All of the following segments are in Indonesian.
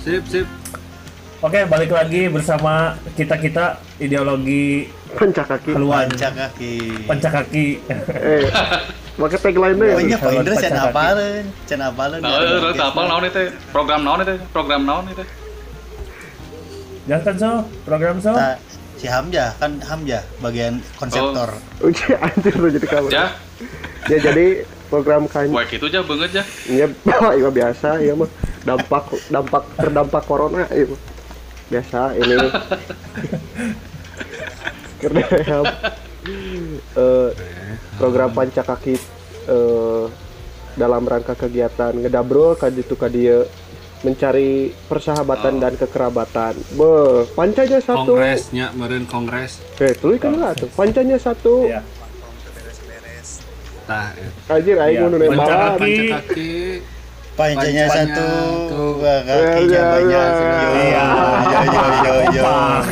Sip. Oke, balik lagi bersama kita ideologi Pancakaki. haluan. Pancakaki. Pakai tagline-nya ya. Oh iya, Pak Indra can Nah, apal naon itu? Program naon itu? Jangan so, program so. Si Hamzah bagian konseptor. Oke, anjir lu jadi kamu. Ya, Ya jadi program kan. wah itu aja banget ya. Iya, iya biasa, iya mah terdampak corona, iya mah. Biasa ini. Karena program Pancakaki dalam rangka kegiatan ngedabrol ka ditu ka dieu mencari persahabatan dan kekerabatan. Pancanya satu. Kongresnya, meureun kongres. Tulis kan lah tuh. Pancanya satu. Iya. Tah, Anjir aing Iya, nu nembalan. Pancakaki. Pancanya satu, Ya, kakinya banyak. Yo.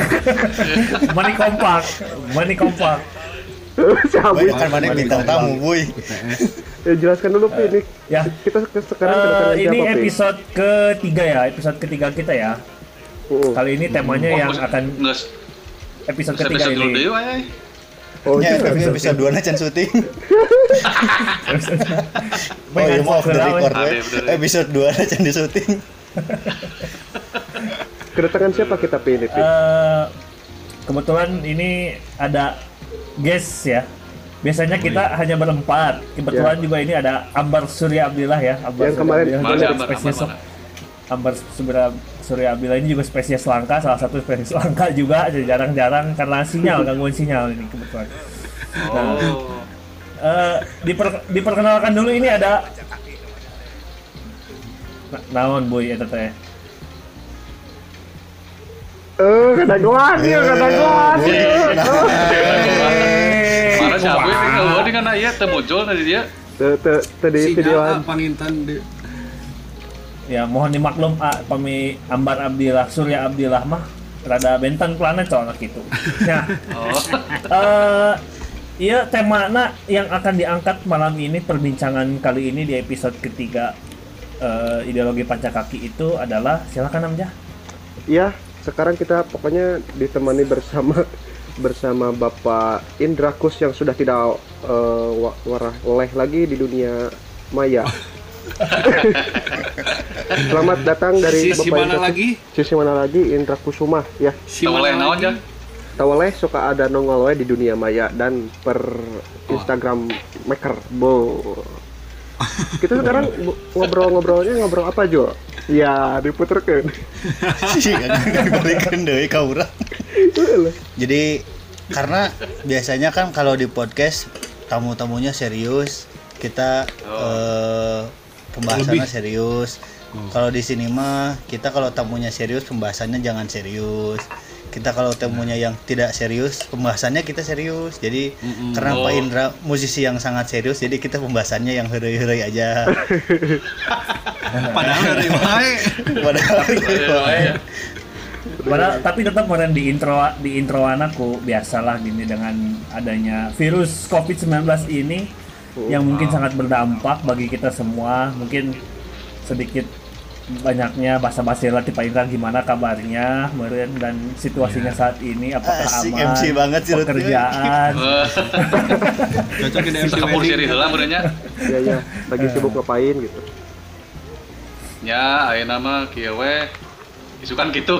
Money kompak. Siapa? Boy, kan mana bintang tamu, boy. Ya jelaskan dulu Pi ini. Ya. Kita sekarang kedatangan Ini siapa Pi? episode ketiga ya, episode ketiga kita ya. Kali ini temanya yang akan Nges, episode ketiga episode dulu ini. deui wae. Oh, Ya, iya. episode 2 na can syuting. Oh iya, Main maaf handphone dari record, Ada, we. bener. Episode 2 na can di syuting. Kedatangan siapa kita Pi ini Pi? Kebetulan ini ada guest ya. Biasanya kita hanya berempat. Kebetulan juga ini ada Ambar Surya Abdillah ya. Ambar Yang kemarin- Surya Mana Abdillah, Ambar, spesies Ambar, Ambar Surya Abdillah ini juga spesies langka, salah satu spesies langka juga. Jadi jarang-jarang karena sinyal, gangguan sinyal ini kebetulan. Oh. Diperkenalkan dulu ini ada naon boy eta teh. Kedaguan ya, kedaguan. Mana siapa ini ngeueuh di kana ieu teu muncul tadi dia. Tadi videoan. Pangintan di. Ya mohon dimaklum pami Ambar Abdillah Surya Abdillah mah rada bentang planet soalnya gitu. Nah, iya temana yang akan diangkat malam ini, perbincangan kali ini di episode ketiga ideologi Pancakaki itu adalah, silakan Amjah. Ya, sekarang kita pokoknya ditemani bersama Bapak Indrakus yang sudah tidak oleh lagi di dunia maya. Selamat datang dari Sisi Bapak mana Indrakus. lagi? Sisi mana lagi? Indrakusuma ya. Toleh naon ya? Tawaleh suka ada nongol we di dunia maya dan per Instagram maker. Kita sekarang ngobrol apa Jo? Ya, diputerkeun. Kan balikan deui ka urang. Jadi karena biasanya kan kalau di podcast tamu-tamunya serius, kita pembahasannya serius. Kalau di sini mah kita kalau tamunya serius, pembahasannya jangan serius. Kita kalau tamunya yang tidak serius, pembahasannya kita serius. Jadi karena Pak Indra musisi yang sangat serius, jadi kita pembahasannya yang heureuy-heureuy aja. Padahal dari wae. Padahal tapi tetap kemarin di introan aku biasalah gini, dengan adanya virus COVID-19 ini yang mungkin sangat berdampak bagi kita semua. Mungkin sedikit banyaknya basa-basi relatif Pak Indra, gimana kabarnya meren dan situasinya saat ini, apakah Asik, aman, MC banget sih, Lutfi. pekerjaan. Cocok di MC Kapur siri heula meureunnya. Ya, lagi sibuk ngapain gitu. Ya, ayeuna mah kieu we. Isukan gitu.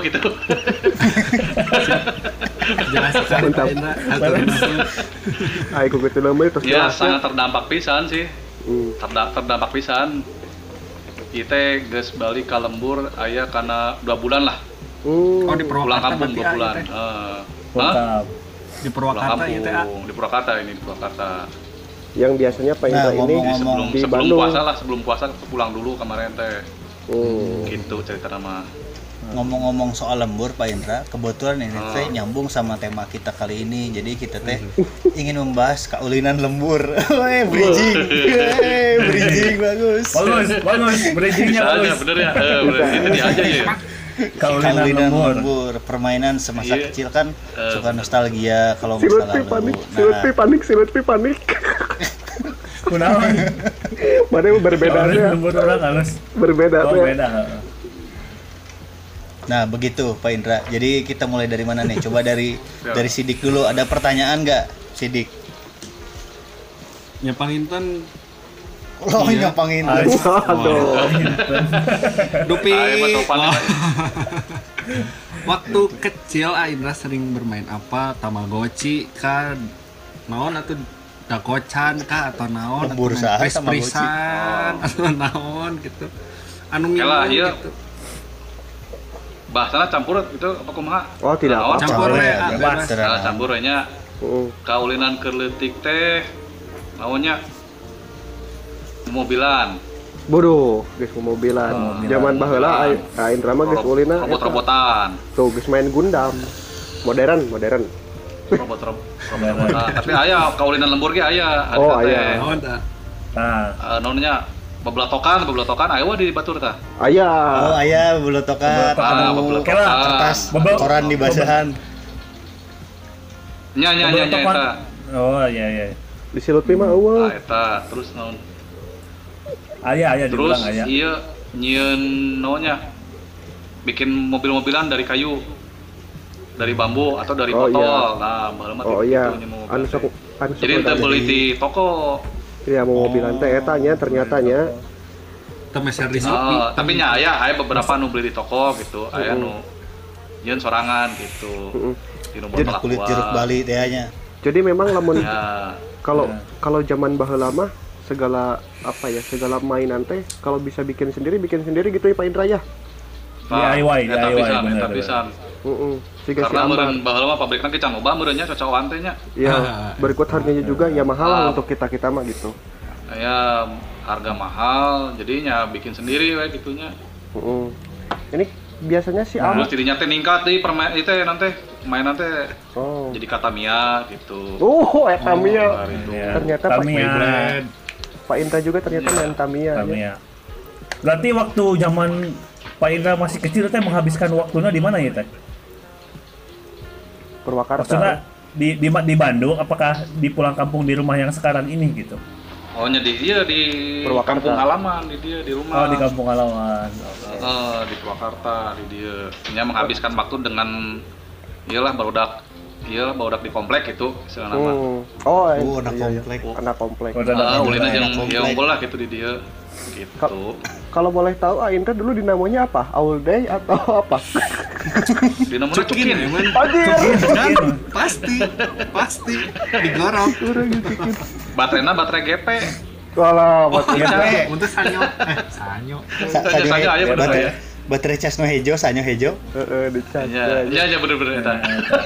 Jelaskan Mantap. Pak Indra. Atur. Ai ku kitu leumeut terus Ya, jelasnya. sangat terdampak pisan sih. Hmm. Terdampak pisan. Kita geus balik ka lembur aya kana 2 bulan lah. Oh, di Pulang Purwakarta kampung berarti 2 bulan. ya, Lengkap. di Pulang Purwakarta ya teh. kampung di Purwakarta ini di Purwakarta. Yang biasanya Pak Indra ini ngomong-ngomong, di sebelum Bandung. puasa lah, sebelum puasa pulang dulu kemarin teh. Gitu cerita nama. Ngomong-ngomong soal lembur Pak Indra, kebetulan ini teh nyambung sama tema kita kali ini. Jadi kita teh ingin membahas kaulinan lembur. Weh, bridging bagus. Bagus, bridgingnya Bisa aja bagus. bener ya. Bener itu dia aja ya. Kaulinan lembur. Permainan semasa Iya. kecil kan suka nostalgia kalau Si masalah Lutfi panik. Kunaon? Mana berbeda Kaulinan ya? lembur orang halus. Berbeda Oh, ya. beda. Nah, begitu Pak Indra. Jadi kita mulai dari mana nih? Coba dari Sidik dulu. Ada pertanyaan nggak, Sidik? Nyapang Inten Oh, Iya. nyapangin. Aduh. Dupi. Ayo, Mas Topan. Waktu kecil Indra sering bermain apa? Tamagotchi kah? Naon atau dakocan kah atau naon? Lembur saha Tamagotchi. Atau naon gitu. Anu Yalah, ngilu iya. gitu. Bahasana campur itu apa kumaha? Oh, tidak Naon? apa-apa. Campur we, Bebas. bebas. Nah, campur we nya Heeh. kaulinan keur leutik teh naonnya mobilan, Bodoh, geus mobilan. Mobilan. Zaman baheula Indra mah geus ulina eta. robot-robotan, Tuh geus main Gundam. Modern. robot-robotan. Tapi aya kaulinan lembur ge aya. Oh, Teh, aya. Naon tah? Nah, naonnya beblatokan aya we di batur tah. Aya. Oh, ayah bulotokan. Beblatokan. Kertas Bebel- koran di basahan. Nya eta. Oh iya. Di Silutpi mah eueuh. Eta terus naon? Aya Terus dibilang aya. iya nyieun naonnya? Bikin mobil-mobilan dari kayu. Dari bambu atau dari Oh, botol. iya. Nah, baheula mah Oh gitu iya. nyeun mobil Anu teh. sok Jadi teu beli di toko. Iya mau mobilan teh eta nya ternyata nya. Teu meser di Shopee. Tapi nya aya beberapa nu beli di toko gitu. Aya nu nyieun sorangan gitu. Heeh. Di nu Jadi botol kulit aqua. jeruk Bali tehnya. Jadi memang lamun Ya. kalau zaman baheula mah segala mainan teh kalau bisa bikin sendiri gitu ya Pak Indra ya. DIY, eta DIY, pisan, bener, eta bener. pisan. Heeh. Siga si Karena Ambar. meureun baheula mah pabrikna ke can loba meureun nya cocokan teh nya. Ya, berikut harganya juga ya mahal lah Ah. untuk kita mah gitu. Aya harga mahal, jadinya bikin sendiri we gitunya. Heeh. Ini biasanya si Terus Ambar. dirinya teh ningkat deui permain itu nanti mainan teh Oh. jadi kata Mia gitu. Oh, eta Mia. Gitu. Ya, Ternyata Pak Tamiya. Pak Indra juga ternyata main Tamiya. Ya. Tamiya. Berarti waktu zaman Pak Indra masih kecil teh menghabiskan waktunya di mana ya teh? Purwakarta. Maksudnya di Bandung, apakah di pulang kampung di rumah yang sekarang ini gitu? Oh nya di Purwakarta. kampung halaman di dia di rumah. Oh di kampung halaman. Di Purwakarta di dia. Nya menghabiskan waktu dengan iyalah barudak di komplek gitu istilah nama. Oh, anak iya, iya. komplek. Anak komplek. Oh, ada Ulina anak yang komplek. unggul lah gitu di dia. Gitu. Kalau boleh tahu Indra dulu dinamanya apa? All Day atau apa? Di nomornya Cukin cukin. emang. Anjir. Kan? Pasti digorok. Baterai GP. Walah, buat Untuk sanyo. Sanyo. Saja aya bener ya. Baterai cas no hejo, sanyo hejo. dicas. Iya bener-bener eta.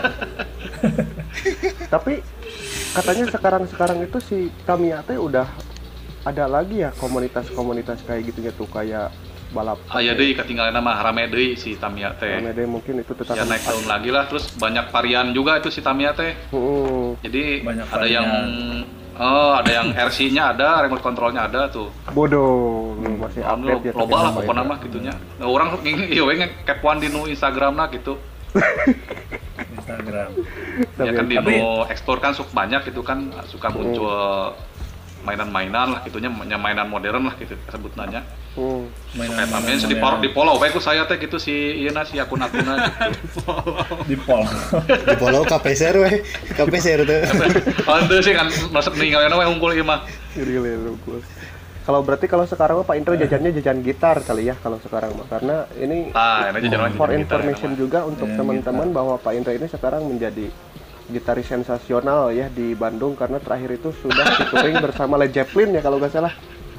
Tapi katanya sekarang itu si Tamiya teh udah ada lagi ya komunitas kayak gitunya tuh kayak balap. Aya deui katinggalan mah rame deui si Tamiya teh. Mede mungkin itu tetap Ya naik tahun lagi lah, terus banyak varian juga itu si Tamiya teh. Jadi Banyak ada varian. yang RC-nya ada, remote controlnya ada tuh. bodoh lu masih update ya. Loba lah ternyata, pokoknya Pak mah gitunya. Nah, orang ieu we kepoan di nu Instagramna gitu. Instagram. Ya kan di Tapi- nu explore kan suka banyak gitu kan suka muncul mainan-mainan lah gitunya, mainan modern lah gitu sebutnanya. Kayak Tamiya di follow bae ku saya teh gitu si ieu na si akun-akunna gitu. Di pol. Di follow KPSR we. KPSR tuh. Ante sih kan masuk ninggalin we unggul ieu mah. Jadi lugu. Kalau berarti kalau sekarang mah Pak Indra jajannya jajan gitar kali ya kalau sekarang mah karena ini Ini jajan for gitar, information ya, juga untuk Ya, teman-teman bahwa Pak Indra ini sekarang menjadi gitaris sensasional ya di Bandung karena terakhir itu sudah touring bersama Led Zeppelin ya kalau nggak salah.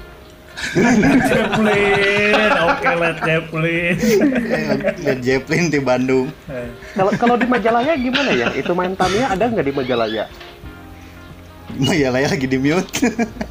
Zeppelin, oke Led Zeppelin. Led Zeppelin di Bandung. Kalau di Majalaya gimana ya? Itu main Tamiya ada nggak di Majalaya? Majalaya lagi di mute.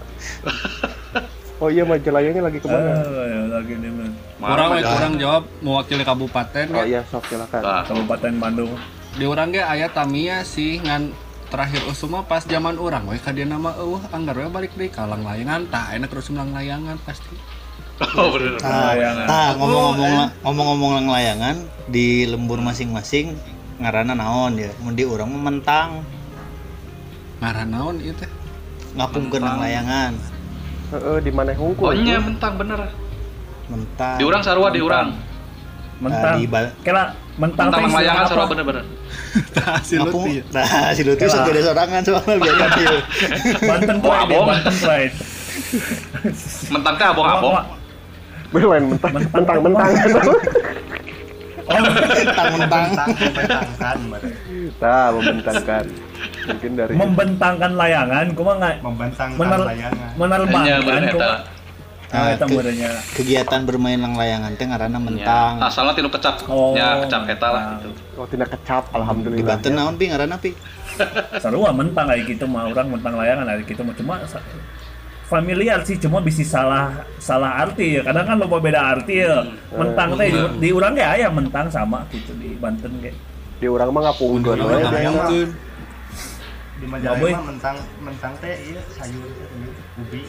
Oh iya Majalayanya lagi kemana? Lagi di mana? Kurang jawab mewakili kabupaten Oh ya. iya sok silakan. Nah, Kabupaten Bandung. Di urang ge aya Tamiya sih ngan terakhir usuma pas zaman urang we ka dieu nama anggar we balik deui ka lang layangan tah enak terus lang layangan pasti. oh bener. Ngomong-ngomong layangan di lembur masing-masing ngaranna naon ya? Mun di urang mah mentang, Ngaran naon ieu teh? ngapungkeun nang layangan. Di mana hungkul? Oh nya mentang bener. Mentang. Di urang sarua di urang. mentang. Kira mentang teh Mentang layangan apa? sarua bener-bener. Si Lutfi. Nah, si Lutfi sok gede sorangan soalnya biasa dia. Banten Oh, Pride, abong. Banten Pride. Mentang teh abong-abong. Beneran mentang-mentang. Oh, Mentang-mentang. Nah, membentangkan. Mungkin dari membentangkan layangan, kumaha nggak Membentangkan layangan. Nya menerbangkan bener eta. kumaha. Ah, eta ke- meureunnya. Kegiatan bermain lang layangan teh ngaranna Nya. mentang. Asalna tinu kecap. Oh. Nya kecap eta lah Nah. gitu. oh tidak kecap Di alhamdulillah. Banten naon pi ngaranna pi? Sarua mentang kayak gitu mah orang mentang layangan kayak gitu mah cuma familiar sih cuma bisa salah arti ya kadang kan loba beda arti ya mentang teh di urang ge aya mentang sama gitu di Banten ge Di urang mah ngapungkeun we Mentang biasa. mah. Di Boy. Majalengka mah mentang teh ieu sayur teh ubi.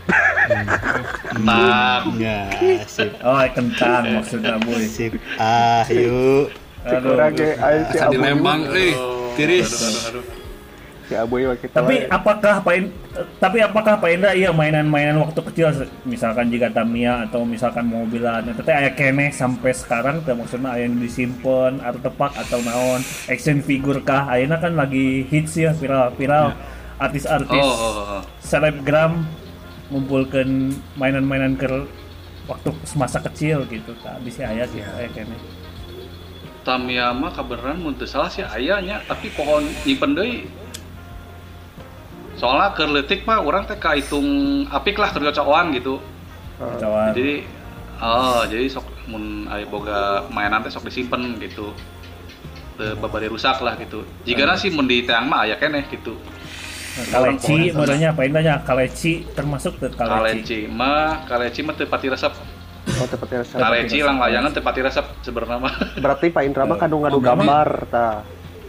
Mentang. Ya, sip. oh kentang maksudnya boy Sip. Ah, yuk. aduh Urang ge aya si Asa di Aboy. Lembang tiris. Aduh. Si Aboy we kita. tapi we. apakah Pak Indra iya mainan-mainan waktu kecil misalkan jika Tamiya atau misalkan mobilan itu teh aya keneh sampai sekarang teh maksudnya aya yang disimpen artefak atau naon action figure kah ayeuna kan lagi hits ya viral artis-artis Oh. selebgram ngumpulkeun mainan-mainan ke waktu semasa kecil gitu tak bisa aya gitu aya keneh Tamiya mah kabeneran mun teu salah sih aya nya, tapi pohon nyimpen deui. Soalnya keur leutik mah urang teh kahitung apik lah keur cocokan gitu. Cocokan. Jadi sok mun aya boga mainan teh sok disimpen gitu. Teu babari rusak lah gitu. Jigana sih mun di teang mah aya keneh gitu. Kaleci merenya apa indahnya kaleci termasuk teu kaleci Kaleci mah teu pati resep. Oh tepatnya rasa. Kaleci lang layangan teu pati resep sebenarnya mah. Berarti Pak Indra mah kadung ngadu gambar tah.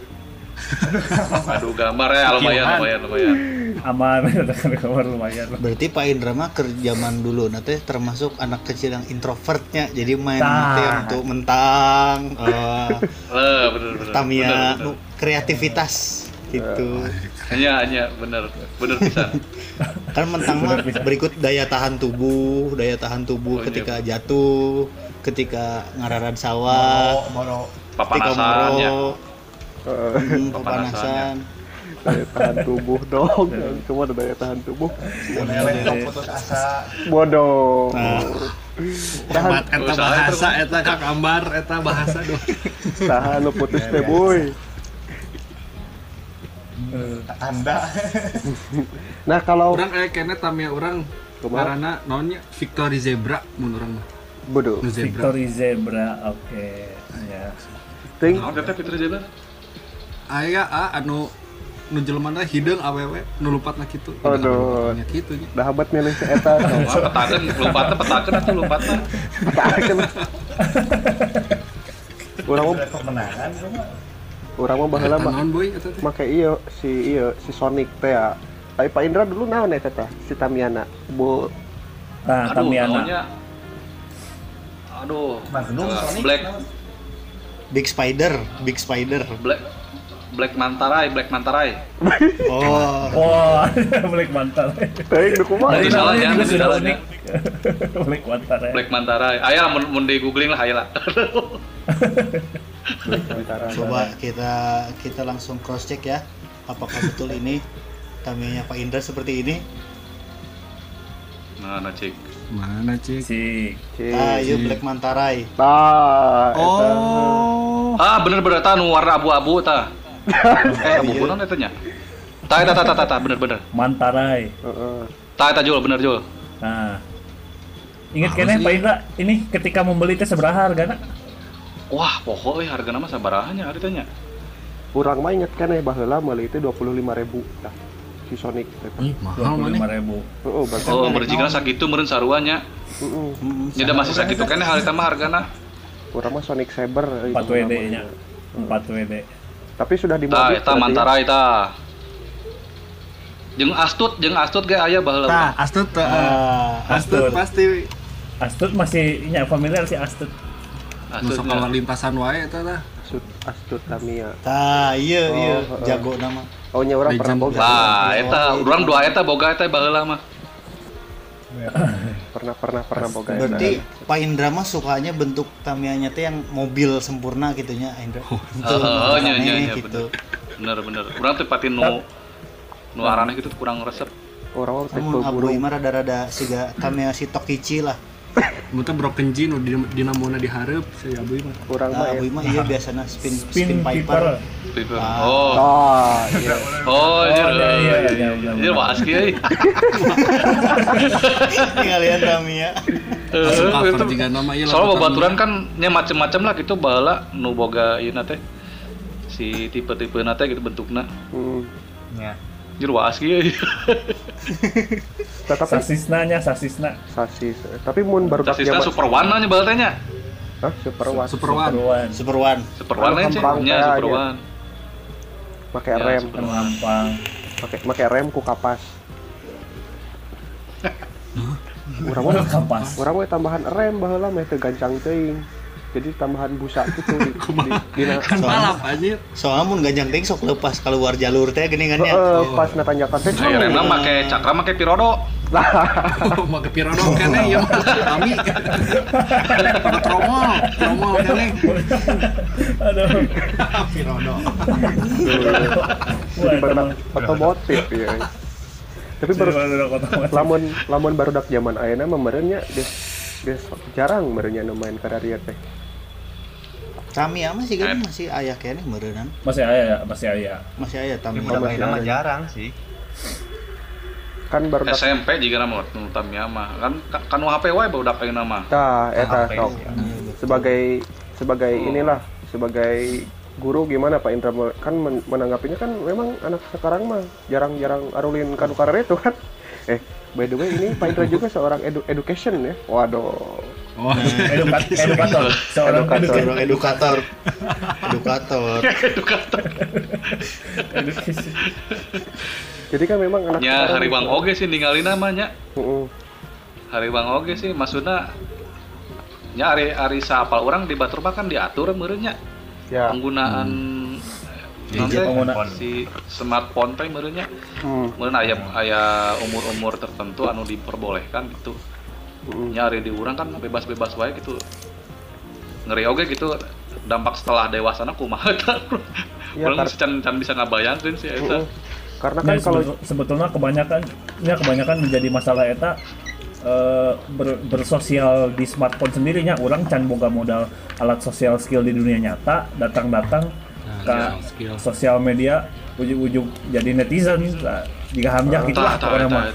Aduh gambar ya lumayan. aman kamar lumayan Berarti Pak Indra mah ke zaman dulu nanti termasuk anak kecil yang introvertnya. Jadi main Tah. nanti untuk mentang, Bener. Tamiya, nu kreativitas gitu. Hanya bener pisan. Kan mentang mah berikut daya tahan tubuh Oh, iya. ketika jatuh, ketika ngararan sawah, Boro. ketika Papanasan ya. moro, Papanasan, kepanasan. Daya tahan tubuh dong. Cuma ada daya tahan tubuh. Eleh tong putus asa. Bodoh. Hebat eta bahasa eta Kak Ambar eta bahasa doh. Tahan lu putus teh boy. Anda. Nah kalau Urang aya keneh Tamiya urang Kumaha? ngaranna naonnya Victory Zebra mun urang mah. bodoh. Nu zebra. Victory Zebra oke ya Ting Naon eta Fitri Zebra? Aya anu nu jelema hideung awewe nu lumpatna kitu. Aduh. Nya kitu nya. dah habat milih si eta. Wah, petakeun atuh lompatna. Urang mah Kemenangan cuma. urang mah baheula Eta mah naon boy eta teh? make si Sonic teh ya. Tapi Pak Indra dulu naon eta teh si Tamiana. Bu nah Aduh, Tamiya naonnya? Aduh. Magnum, Sonic, Black naon? Big Spider. Black Mantarai. Oh, wah Black Mantar teuing nu kumaha. Dari dari salah namanya ya, juga dari sudah salah unik Black Mantar ya Black Mantarai. Aya lah mun di googling lah aya lah. coba kita langsung cross check ya. Apakah betul ini Tamiya Pak Indra seperti ini? Nah, cik. Mana cik? si Ayo Black Mantarai. Tah eta. Ah, bener ta nu warna abu-abu ta. Abu-abu naon eta nya? Ta bener. Mantarai Heeh. Ta Jul, bener Jul. nah ingat keneh Pak Indra ini ketika membeli teh sabaraha hargana Wah, pokoknya hargana mah sabaraha nya ari teh nya? Urang mah inget kan baheula meuli teh 25.000 tah. Si Sonic teh. Mahal mana? 25.000 Heeh, berarti. Oh, merjigana sakitu meureun sarua nya. Heeh. Nya da masih sakitu keneh harita mah hargana. Urang mah Sonic Saber 4 WD nya 4 WD Tapi sudah Ta dimodif. eta Mantarai ta. Jeung Astut ge aya baheula. Tah, Astut teh. Astut Astut. pasti Astut masih nya familiar si Astut nu sok Astutnya. keluar lintasan wae eta tah. Astut Tamiya. Iya, Oh, jago nama. Oh nya urang pernah Legend. boga. Nah, eta urang dua eta boga eta baheula mah. pernah boga. Berarti Pak Indra mah sukanya bentuk Tamiya-nya teh yang mobil sempurna gitunya Indra. Oh, nya gitu. Bener. Urang teh pati nu arane gitu kurang resep. Orang teh Namun buru. Abu mah rada-rada siga Tamiya si Tokichi lah. Muntah broken jin dinamona dihareup si Abu mah. Orang mah Abu mah iya biasana spin piper. Piper. Oh, iya. Iya. Iya waas kieu. Ngalian Tamiya. Langsung cover juga nama ieu. Soalnya babaturan kan nya macem-macem lah gitu baheula nu boga ieu teh. Si tipe-tipe teh gitu bentukna. Ya. Jero waas kieu. Tetapi Sasisna. sasis. Tapi mun baru Sasisna super warna nya baheula teh nya. Hah, Super One. Super One. Super One. Super warna sih Gampang nya teh super aja. one. Pakai Ya, rem, Super Gampang. pakai rem ku kapas. Urang mah Kapas. urang mah tambahan rem baheula mah teu gancang teuing. Jadi tambahan busa gitu di Kan balap anjir. Soalnya mun ganjang teh sok lepas keluar jalur teh geuningannya. pas na tanjakan teh. Nah, remna make cakra make pirodo. Oh, make pirodo keneh ieu. Kami. Pakai tromol keneh. Aduh. Pirodo. Otomotif ya. Tapi baru lamun barudak zaman ayeuna mah meureunnya des jarang meureunnya nu main kadaria teh. Tamiya mah sih kan masih aya keneh meureunan. Masih aya. Masih aya Tamiya. Udah main mah jarang sih. Kan barudak SMP juga nama nu Tamiya mah kan HP wae barudak ayeuna mah. tah eta HP, sok. ya. Sebagai inilah sebagai guru gimana Pak Indra kan menanggapinya kan memang anak sekarang mah jarang-jarang arulin kanu karer itu kan. By the way ini Pak Indra juga seorang education ya. Waduh. Oh, Edukator. Seorang Edukator. edukasi. Jadi kan memang anak Nya hariwang oge sih ninggalin namanya. Heeh. Hariwang oge sih maksudna nya ari saapal urang di Batur mah kan diatur meureunnya. Ya. Penggunaan si smartphone teh meureunnya. Meureun aya umur-umur tertentu anu diperbolehkan gitu. Nya ari di urang kan bebas-bebas wae gitu. Ngeri oge gitu dampak setelah dewasana kumaha eta. Ya, Urang can bisa ngabayangkeun sih eta. Karena kan kalau sebetulnya kebanyakan menjadi masalah eta bersosial di smartphone sendirinya orang can boga modal alat sosial skill di dunia nyata datang ke sosial media ujung-ujung jadi netizen jika hamjak gitu lah pokoknya mah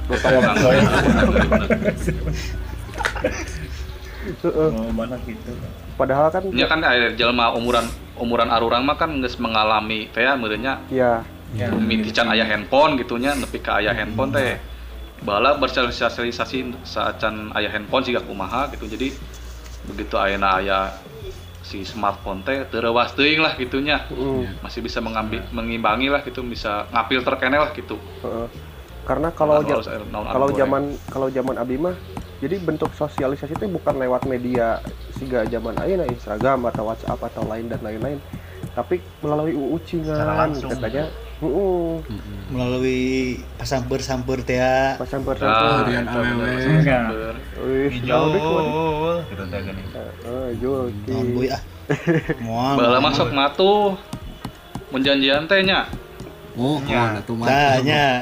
mana gitu padahal kan nya kan aya jelema umuran arurang mah kan geus mengalami teh meureunnya ya mitican aya handphone gitunya nepi ka aya handphone teh bala bersosialisasi saacan aya handphone siga kumaha gitu. Jadi begitu ayeuna aya si smartphone teh teu reuwas teuing lah gitunya. Masih bisa mengimbangi lah gitu, bisa ngapilter keneh lah gitu. Karena kalau zaman abi mah jadi bentuk sosialisasi itu bukan lewat media siga zaman ayeuna Instagram atau WhatsApp atau lain dan lain-lain, tapi melalui ucingan katanya. Melalui pasamper-samper teh ya. Pasamper-samper. Rian awewe. Jol gitu teh gini. Jol. Naon boy ah. Moal. Bala masuk matuh. Mun janjian teh nya. Oh, Ya. atuh mah. Tanya.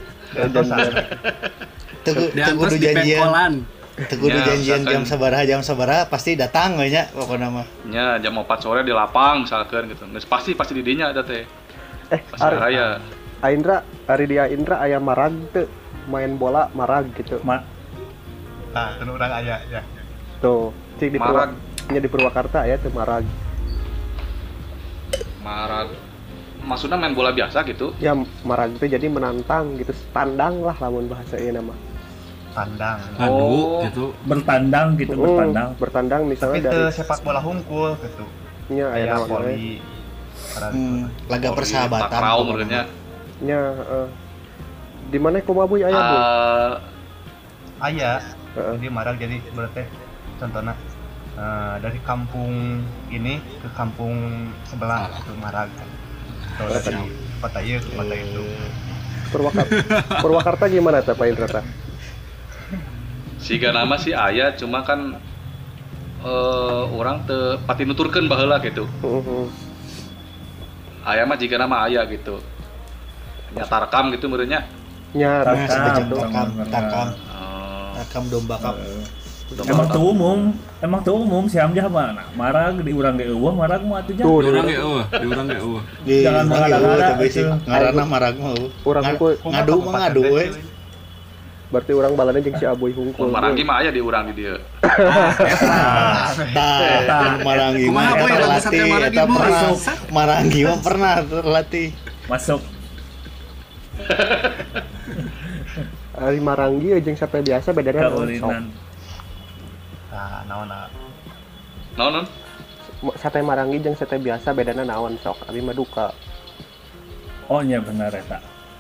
Kudu janjian. Kudu janjian jam sabaraha pasti datang we nya pokona mah. Nya jam 4 sore di lapang misalkan gitu. Geus pasti di dinya eta teh. Raya. Ari dia Indra aya marag teu main bola marag gitu. Nah, itu urang aya ya. Tuh, cik di Marag. di Purwakarta aya teu marag. Marag. Maksudnya main bola biasa gitu. Ya marag teh jadi menantang gitu, tandang lah lamun bahasa ieu nama. Tandang. Aduh, gitu. bertandang Bertandang Tapi misalnya teu dari sepak bola hungkul gitu. nya aya Aya naon we. voli. Laga persahabatan. Takraw meureunnya. Nya di mana Komabuy aya Bu? Aya. Jadi marag jadi berarti contohnya dari kampung ini ke kampung sebelah itu marag. Atau dari kota ieu ke kota itu. Purwakarta gimana teh Pak Indra teh? Siga nama sih aya cuma kan orang teu pati nuturkeun baheula gitu. Aya mah jika nama aya gitu. Nyata rekam gitu meureunnya. Nya Tarkam, Rakam domba kap. Emang tuh umum si Hamzah mah nah, marag di urang ge eueuh marag mah atuh nya. Tuh, Di urang ge eueuh, di urang ge eueuh. Jangan mengada-ngada, itu. Ngaranna marag mah. Urang hungkul. Ngadu mah ngadu we. Berarti urang balana jeung si Aboy hungkul. Maranggi mah aya di urang di dieu. Tah, Maranggi mah Kumaha, Boy? eta Ada latih, sate Maranggi, eta Boy? pernah. Maranggi mah pernah terlatih. Masuk. Ari Maranggi jeung sate biasa bedana naon, sok. Kaulinan. Nah, naon. Naon? Sate Maranggi jeung sate biasa bedana naon sok. Abi mah duka. Oh nya benar eta.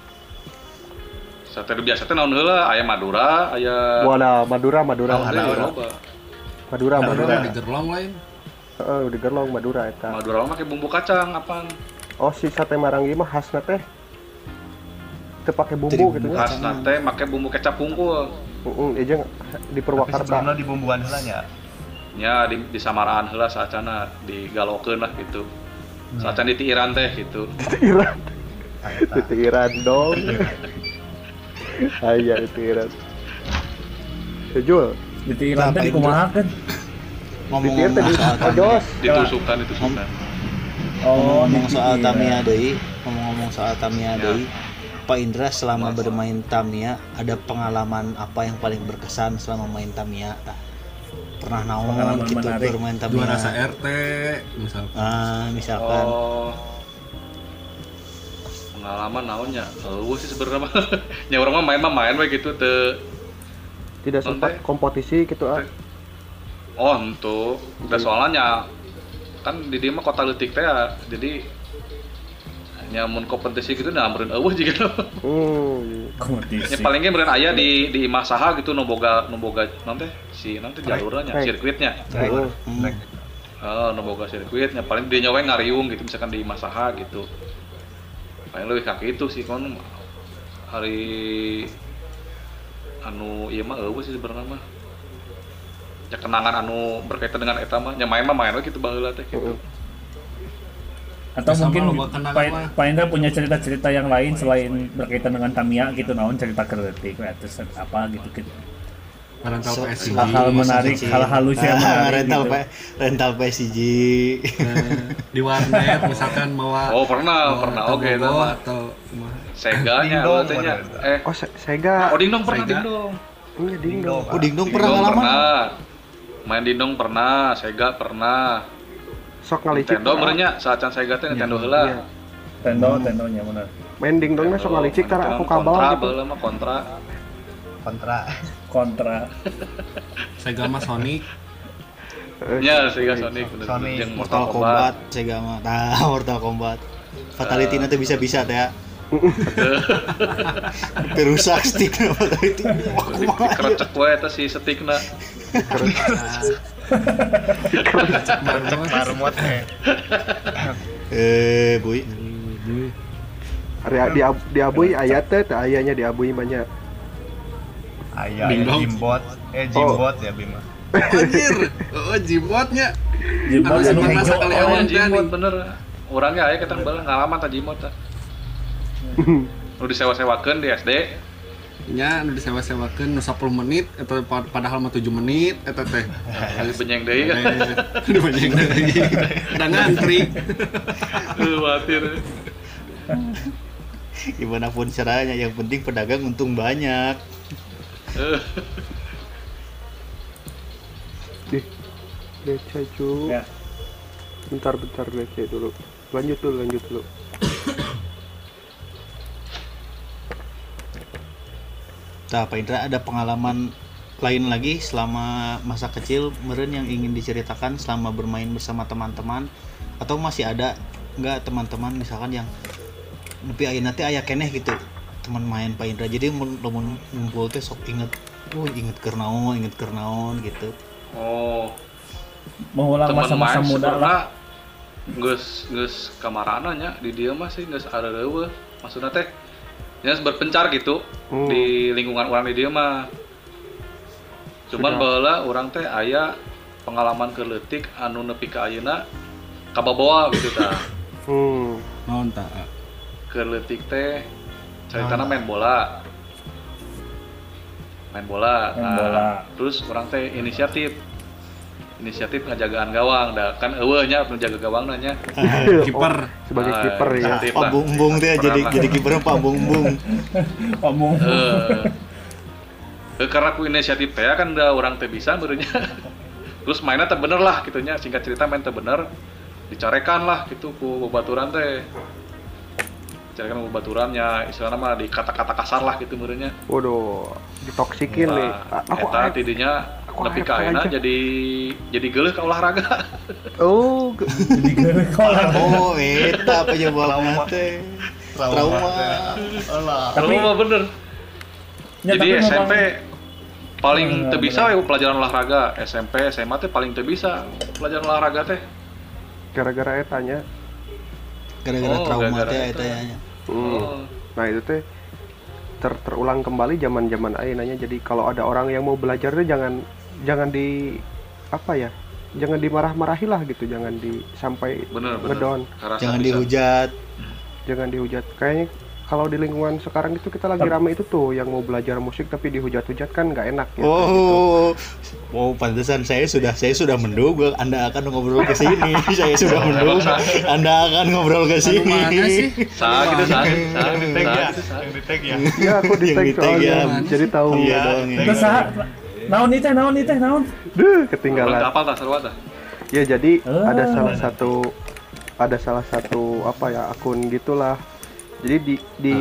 Sate biasa teh naon heula? Aya Madura, aya Wala Madura. naon teh loba. Madura. Di gerlong lain. Heeh, di Gerlong Madura eta. Madura mah make bumbu kacang apaan? Oh, si sate Maranggi mah khasna teh teu pake bumbu gitu nya. Khasna teh make bumbu kecap hungkul. Jeung di Tapi Purwakarta. sebelumnya di bumbuan heula nya. Nya di samaraan heula saacana digalokeun lah gitu. Saacan ditiiran teh gitu. Titiran. Titiran dong. Aya titiran. Sejul. Ditiiran teh dikumahakeun. Titir teh Ngomong-ngomong soal ojos. Ditusukan. Oh, ngomong soal ditiiran. Tamiya deui, ngomong-ngomong soal Tamiya Ya. deui. Pak Indra selama bermain Tamiya ada pengalaman apa yang paling berkesan selama main Tamiya? Tah, pernah naon Pengalaman gitu menarik. bermain Tamiya? Juara RT misalkan. Misalkan Oh. Pengalaman naonnya? Sih sebenarnya mah. Nya urang mah main we gitu teu Tidak sempat kompetisi gitu ah. oh untuk udah soalnya kan di dia mah kota leutik teh ya. Jadi nyamun kompetisi gitu nah meureun eueuh jiga. Kompetisi. Ya palingnya meureun aya di imah saha gitu nu boga naon teh si naon teh jalurna nya sirkuitnya. Nu boga sirkuitnya paling dia nyawa ngariung gitu misalkan di imah saha gitu. Paling leuwih ka kitu sih kon hari anu ieu mah eueuh sih sebenarnya mah. Ya kenangan anu berkaitan dengan eta mah nya main we kitu baheula teh gitu. Atau Sama mungkin loba kenangan mah. Pak Indra punya cerita-cerita yang lain selain berkaitan dengan Tamiya gitu, naon cerita kereutik terus apa gitu. Rental PSG. Hal-hal menarik, hal-hal lucu yang menarik rental gitu. rental PSG. Di warnet misalkan bawa. Oh, pernah oke itu mah. Atau Seganya Dingdong, teh nya. bener. Oh, Sega. Oh dingdong pernah Sega. dingdong. Iya dingdong. Oh, Dingdong pernah Dingdong ngalaman? pernah. Main dingdong pernah, Sega pernah. Sok ngalicik. Nintendo merenya saacan Sega teh Nintendo heula. Iya. Tendonya benar. Main dingdongnya sok ngalicik tara aku kabel kontra gitu. baheula mah kontra. Kontra. Sega mah Sonic. Nya Sega Sonic bener Sonic. jeung Mortal Kombat, Sega mah. Nah, Mortal Kombat. Fatality nanti bisa-bisa teh ya. Perusak stick Fatality. Wah, kumaha ya? Kerecek we eta si stickna. Marmot Boy. Ari di Abuy aya teh ayanya di Abuy mah nya. Aya Dingdong. Jimbot ya Bima. Anjir. Oh, jimbotnya. Jimbot Anu anu masa hejo. kalewan teh Jimot nih. bener. Orangnya aya kita baheula ngalaman ta Jimot tah. Nu disewa-sewakeun di SD. Nya nu disewa-sewakeun nu 10 menit eta padahal mah 7 menit eta teh. Kali benyeng deui kan. Udah banyak lagi. Udah ngantri. Khawatir. Gimana pun caranya, yang penting pedagang untung banyak. Beca cu. Ya. Bentar beca dulu. Lanjut dulu. Nah, Pak Indra, ada pengalaman lain lagi selama masa kecil meren yang ingin diceritakan selama bermain bersama teman-teman, atau masih ada nggak teman-teman misalkan yang nepi ayeuna teh aya keneh gitu teman main Pak Indra, jadi mun ngumpul teh sok inget keur naon gitu. Oh, Mengulang teman masa-masa main muda lah. geus kamarana nya di dieu mah sih geus areueuh. Maksudna teh nya berpencar gitu di lingkungan orang di dieu mah. Cuman baheula urang teh aya pengalaman keleutik anu nepi ka ayeuna kabawa gitu tah. Naon tah? Keleutik teh caritana main bola. Terus orang teh inisiatif ngajagaan gawang, kan eueuh nya penjaga gawang nya. Kiper. Sebagai kiper ya. Pak Bumbung teh jadi kiper Pak Bumbung. Ngomong. Karena ku inisiatif teh kan da urang teh bisa meureunnya. Terus mainnya teh bener lah gitunya, singkat cerita main teh bener. Dicarekan lah gitu ku babaturan teh. Dicarekan ku babaturannya, istilahna mah di kata-kata kasar lah gitu meureunnya. Waduh, ditoksikin nih. Aku eta tidinya nepi ka ayeuna jadi geuleuh ka olahraga. Oh, Jadi geuleuh ka olahraga. Oh, eta penyebabna teh. Trauma. Tapi mah bener. Ya, Jadi tapi SMP memang- paling teu bisa we pelajaran olahraga, SMP, SMA teh paling teu bisa pelajaran olahraga teh. gara-gara etanya. Gara-gara Oh, trauma gara-gara teh eta. eta nya. Nah itu teh terulang kembali zaman-zaman ayeuna. Jadi kalau ada orang yang mau belajar tuh jangan di apa ya? Jangan dimarah-marahi lah gitu, jangan sampai Bener. ngedown, Karasa Jangan bisa. dihujat. jangan dihujat. Kayaknya kalau di lingkungan sekarang itu kita lagi rame itu tuh yang mau belajar musik tapi dihujat-hujat kan nggak enak ya. Pantesan saya sudah menduga Anda akan ngobrol ke sini. Saya sudah menduga Anda akan ngobrol ke sini. Mana sih? Sah gitu sah. Yang di tag ya. Ya aku di Yang tag di tag soalnya, ya. jadi tahu. Iya dong. Ya. Terus saha? Naon ieu teh naon? Duh, ketinggalan. Kapal tak sarua tah. Ya jadi Ah. ada salah satu apa ya akun gitulah. Jadi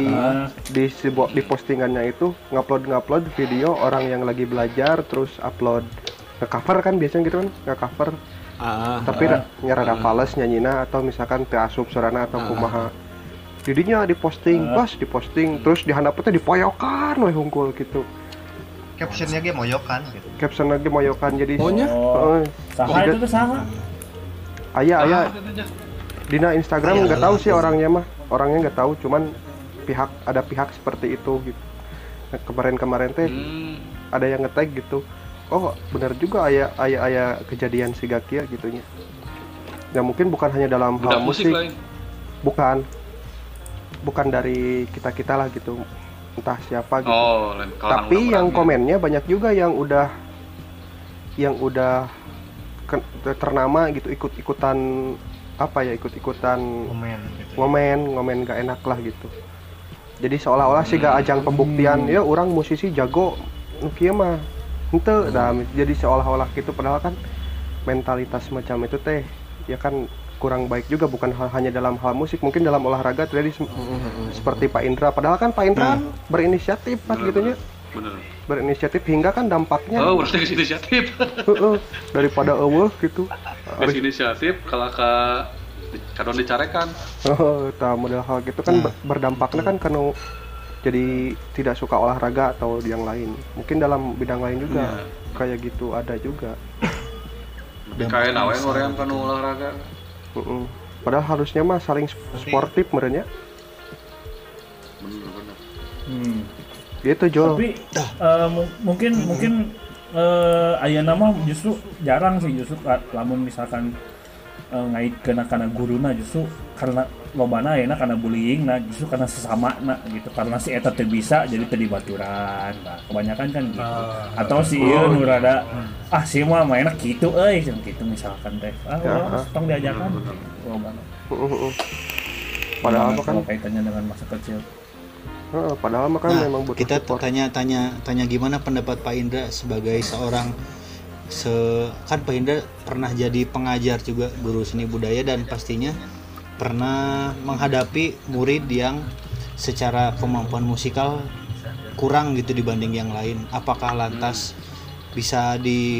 di postingannya itu ngupload video orang yang lagi belajar terus upload nge-cover kan biasanya gitu kan nge-cover tapi rada fales nyanyina atau misalkan teu asup surana atau kumaha. Jadinya diposting terus dihandapnya dipoyokan we hungkul gitu. Captionnya ge moyokan gitu. Caption lagi moyokan jadi Oh. Saha itu teh saha? Aya Dina Instagram nggak tahu sih orangnya nggak tahu, cuman ada pihak seperti itu gitu. Nah, kemarin teh ada yang nge-tag gitu. Oh benar juga aya kejadian si Gakia gitunya. Ya mungkin bukan hanya dalam hal musik, lain. bukan dari kita lah gitu, entah siapa gitu. Oh, lain kalangan Tapi yang orang-orangnya. komennya banyak juga yang udah ternama gitu, ikutan Komen gitu. ngomen gak enak lah gitu. Jadi seolah-olah sih gak ajang pembuktian ya orang musisi jago nu kieu mah henteu. Nah, jadi seolah-olah gitu padahal kan mentalitas macam itu teh ya kan kurang baik juga, bukan hanya dalam hal musik, mungkin dalam olahraga terjadi seperti Pak Indra. Padahal kan Pak Indra berinisiatif pas gitunya. Bener. Berinisiatif hingga kan dampaknya Oh, berarti inisiatif. daripada eueuh gitu. Geus inisiatif kalau kadon dicarekan. Tah model hal gitu kan berdampaknya kan kanu jadi tidak suka olahraga atau yang lain. Mungkin dalam bidang lain juga kayak gitu ada juga. Kayak nawe ngorean kanu olahraga. Padahal harusnya mah saling sportif merenya. Bener. Gitu Jo. Tapi mungkin ayeuna mah justru jarang sih justru lamun misalkan ngait kana guruna justru karena lobana ayeuna kana bullying nah justru karena sesama nah gitu karena si eta teu bisa jadi teu dibaturan. Nah, kebanyakan kan gitu. Atau si ieu nu rada si mah mainna kitu euy gitu misalkan teh. Tong diajakan lobana. Padahal mah kan kaitannya dengan masa kecil. padahal mah kan memang butuh kita support. tanya gimana pendapat Pak Indra sebagai seorang kan Pak Indra pernah jadi pengajar juga, guru seni budaya, dan pastinya pernah menghadapi murid yang secara kemampuan musikal kurang gitu dibanding yang lain. Apakah lantas bisa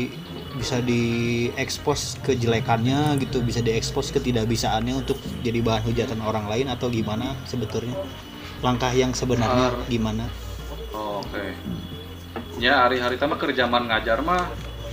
diekspos kejelekannya gitu, bisa diekspos ketidakbisaannya untuk jadi bahan hujatan orang lain, atau gimana sebetulnya? Langkah yang sebenarnya gimana? Oke. Ya hari-hari mah kerjaman ngajar mah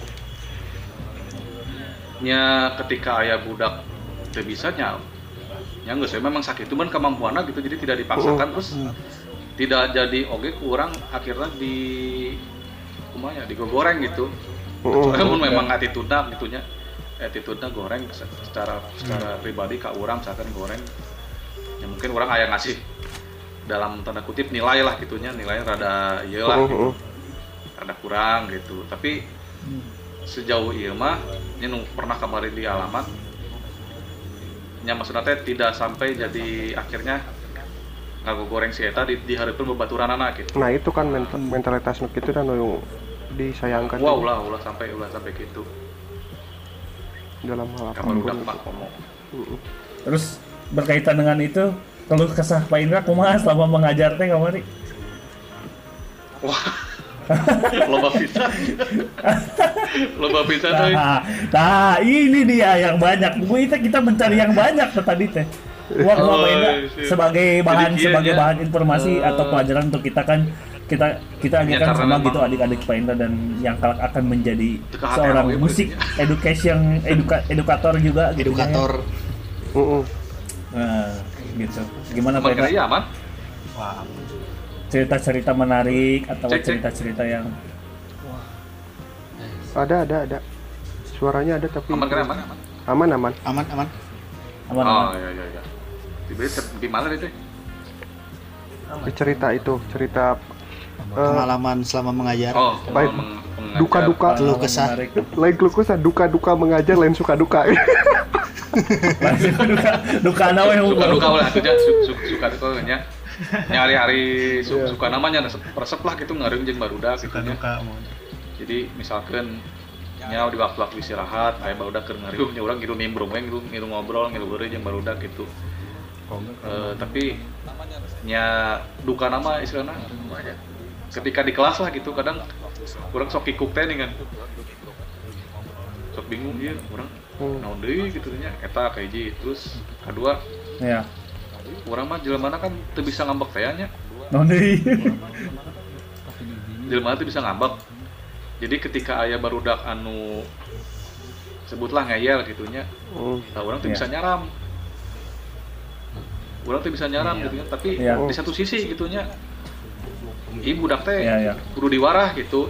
nya ketika aya budak teu bisa nya geus memang sakit cuman kemampuanna gitu, jadi tidak dipaksakan terus tidak jadi oge kurang akhirnya kumanya digoreng gitu. Soalnya mun memang attitude-na gitunya. Attitude-na goreng secara pribadi ka urang misalkan goreng. Ya mungkin orang aya ngasih dalam tanda kutip nilai lah gitunya, nilainya rada ieu lah gitu. Rada kurang gitu. Tapi sejauh ieu mah nya pernah kemarin di alamat nya maksudna teh tidak sampai jadi akhirnya ngagogoreng si eta dihareupeun babaturanana gitu. Nah itu kan mentalitas nu kitu dan nu disayangkan. Wah ulah sampai gitu. Dalam hal apa Kamar udah ngomong. Terus berkaitan dengan itu, keluh kesah Pak Indra kumaha selama mengajar teh kamari? Wah. Loba pisan teh. Nah, ini dia yang banyak. Kita mencari yang banyak tadi teh. Wah, Pak Indra sebagai bahan informasi atau pelajaran untuk kita kan kita ajarkan sama gitu adik-adik Pak Indra dan yang kelak akan menjadi seorang musik edukator juga gitu. Edukator. Nah, gitu. Gimana Pak Indra? Iya, aman. Wah, Cerita-cerita menarik atau cerita-cerita yang Ada. Suaranya ada tapi Aman. aman. aman. Oh iya. Gimana itu? Cerita Pengalaman selama mengajar. Oh, baik. Duka-duka. Keluh kesah. Lain keluh kesah, duka-duka mengajar, lain suka-duka. duka nawe Suka-duka ulah atuh suka-duka nya. Nyari-hari suka namanya resep lah gitu ngareung jeung barudak gitu nya. Jadi misalkan nya di waktu-waktu istirahat aya barudak keur ngareung nya urang ngiru nimbrung we ngiru ngobrol ngiru beureuh jeung barudak gitu. Tapi nya duka nama istilahna ketika di kelas lah gitu kadang urang sok kikuk teh dengan sok bingung ieu urang naon deui gitu nya eta ka hiji terus kedua ya urang mah jelema kan teu bisa ngambek teh nya naon deui jelema teu bisa ngambek jadi ketika aya barudak anu sebutlah ngeyel gitu nya urang teu bisa nyaram gitu nya tapi di satu sisi gitu nya ibu budak teh kudu diwarah gitu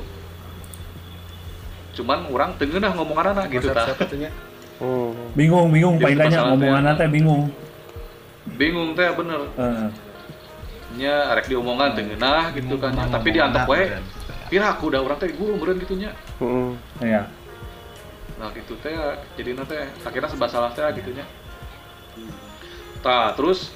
cuman urang teu ngeunah ngomonganna gitu tah bingung Pak Indranya ngomonganna teh bingung teh bener nya arek diomongan teu ngeunah gitu kan tapi diantep we piraku da urang teh guru meureun gitu nya iya nah gitu teh jadina teh akhirnya serba salah teh gitu nya tah terus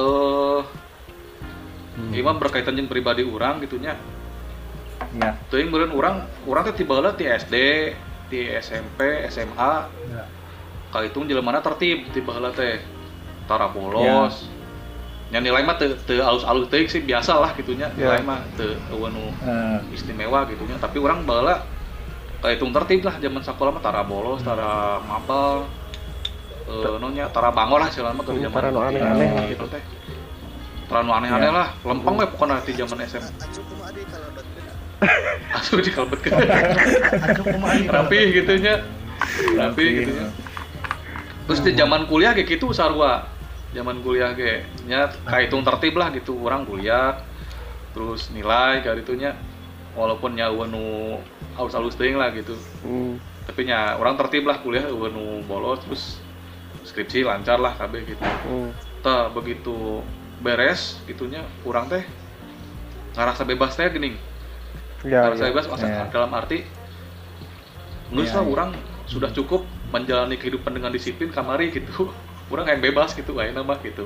Imam berkaitan jeung pribadi urang gitunya. Ya. Teuing meureun urang teh tibaheula ti SD, ti SMP, SMA. Ya. Kaitung jeleumana tertib tibaheula teh. Tara bolos. Ya. Nya nilai mah teu alus-alus teuing sih biasa lah gitunya. Nilai mah teu anu istimewa gitunya, tapi urang baheula kaitung tertib lah zaman sakola mah tara bolos, tara mapel. Tara bangor lah selama ke zaman tara aneh-aneh gitu teh. Terlalu aneh-aneh lah, lempeng we pokoknya di zaman SMA. Asuh dikalbetkeun. Rapi gitu nya. Terus di zaman kuliah kayak gitu sarua. Zaman kuliah ge nya kahitung tertib lah gitu, orang kuliah. Terus nilai kayak gitunya walaupun nya nu alus-alus teuing lah gitu. Tapi nya orang tertib lah kuliah nu bolos terus skripsi lancar lah kabeh gitu. Tah begitu beres gitunya kurang teh ngerasa bebas teh geuning. Ngerasa bebas dalam arti geus lah urang sudah cukup menjalani kehidupan dengan disiplin kamari gitu. Urang yang bebas gitu ayeuna mah gitu.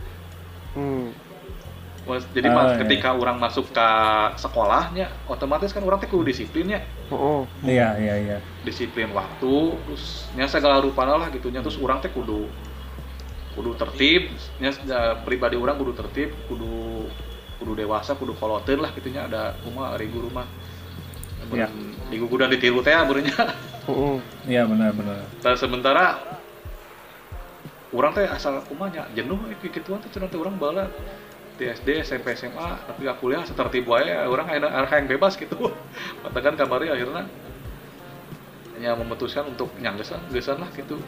Jadi ketika urang masuk ke sekolahnya otomatis kan urang teh kudu disiplinnya. Iya. Disiplin waktu terus nya segala rupana lah gitunya terus urang teh kudu tertib, nya pribadi orang kudu tertib, kudu dewasa, kudu koloteuan lah gitunya ada kumaha ari guru mah. Iya. Di guru dan ditiru teh beurnya. Iya benar. Tah sementara urang teh asal kumaha nya jenuh kituan teh cenah teh urang baheula di SD, SMP, SMA, tapi kuliah satertib wae urang aya yang bebas gitu. Matakan kamari akhirnya nya memutuskan untuk geus lah gitu.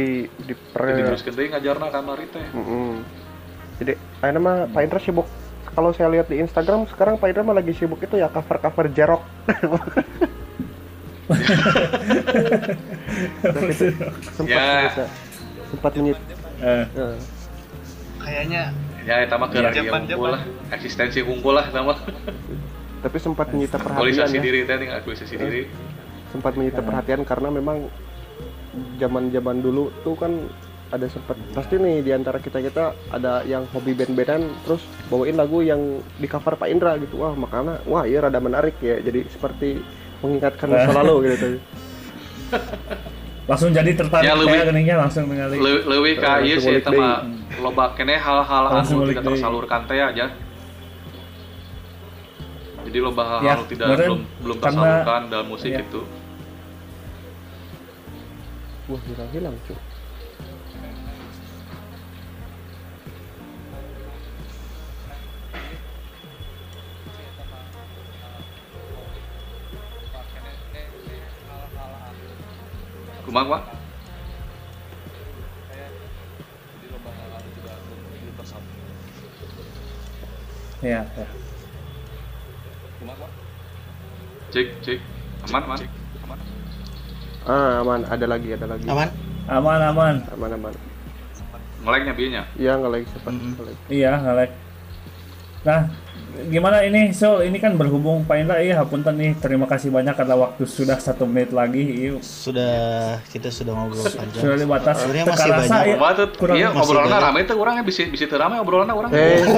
Diteruskeun deui ngajarna kamari teh. Jadi ayeuna mah Pak Indra sibuk kalau saya lihat di Instagram sekarang Pak Indra mah lagi sibuk itu ya cover Jerok. sempat menyit. Kayaknya Ya eta mah keur unggul lah, eksistensi unggul lah sama. Tapi sempat menyita perhatian Aktualisasi ya. diri teh, aktualisasi diri. Sempat menyita perhatian karena memang zaman dulu tuh kan ada sempat pasti nih di antara kita ada yang hobi band-bandan terus bawain lagu yang di cover Pak Indra gitu. Wah, makanya iya rada menarik ya. Jadi seperti mengingatkan masa lalu gitu. Langsung jadi tertarik Ya, kayak geningnya langsung ningali. Leuwih ka ieu sih eta mah loba keneh hal-hal Langsung anu ngulik tidak deui. tersalurkan teh aja. Jadi loba hal-hal Ya, anu tidak meren, belum karena- tersalurkan dalam musik ya. itu. Wah, hilang cuy. Kumaha, Pak? Ya. Cek. Aman. Aman, ada lagi. Aman? Aman. Ngeleknya bieunya. Iya, nge-like sempat. Iya, ngalek. Nah, gimana ini Sol? Ini kan berhubung Pak Indra, iya hapunten nih. Terima kasih banyak karena waktu sudah 1 menit lagi. Iya, Kita sudah ngobrol panjang. sudah dibatas. Sebenarnya masih Tekarasa, banyak. iya. Kumaha tuh? kurang- Iya, masih obrolanna banyak. rame teh urangnya bisa teu rame obrolanna urang.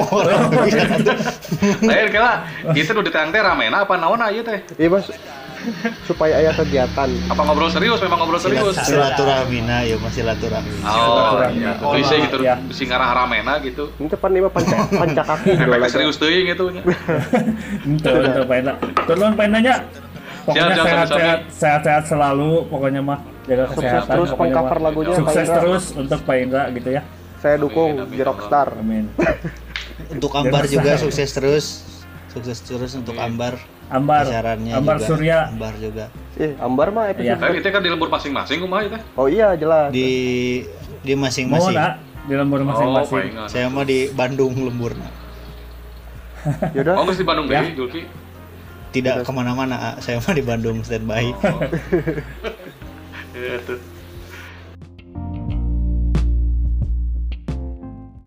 Oh, Lain kala kitu nu ditayang teh ramena apa naonna ieu teh? Iya, Mas. Supaya aya kegiatan. Apa ngobrol serius? Memang ngobrol serius. Silaturahmina ya masih silaturahmi. Oh, Silaturahmi. iya. Klise gitu, Ya. bisi ngarah ramena gitu. Ini depan lima panca kaki gitu Efek lagi. serius teuing gitu nya. Itu Pak Indra. Turun Pak Indra nya. Pokoknya Siap, sami-sami. sehat selalu. Pokoknya mah jaga Sukses kesehatan. terus pokoknya pengcover mah. lagunya Pak Sukses Indra. terus untuk Pak Indra gitu ya. Saya dukung Amin, Jerok Star. Amin. Untuk Ambar juga sukses terus. Sukses terus untuk Ambar. Ambar juga. Surya. Ambar juga. Ambar mah episode. Iya. Tapi itu kan di lembur masing-masing kumaha ieu teh? Oh iya, jelas. Di Mau masing-masing. nak di lembur masing-masing. palingan. Saya mah di Bandung lemburna. Yaudah. Oh, geus di Bandung Ya. deui, Julki. Tidak kemana-mana, saya mah di Bandung standby. Iya tuh.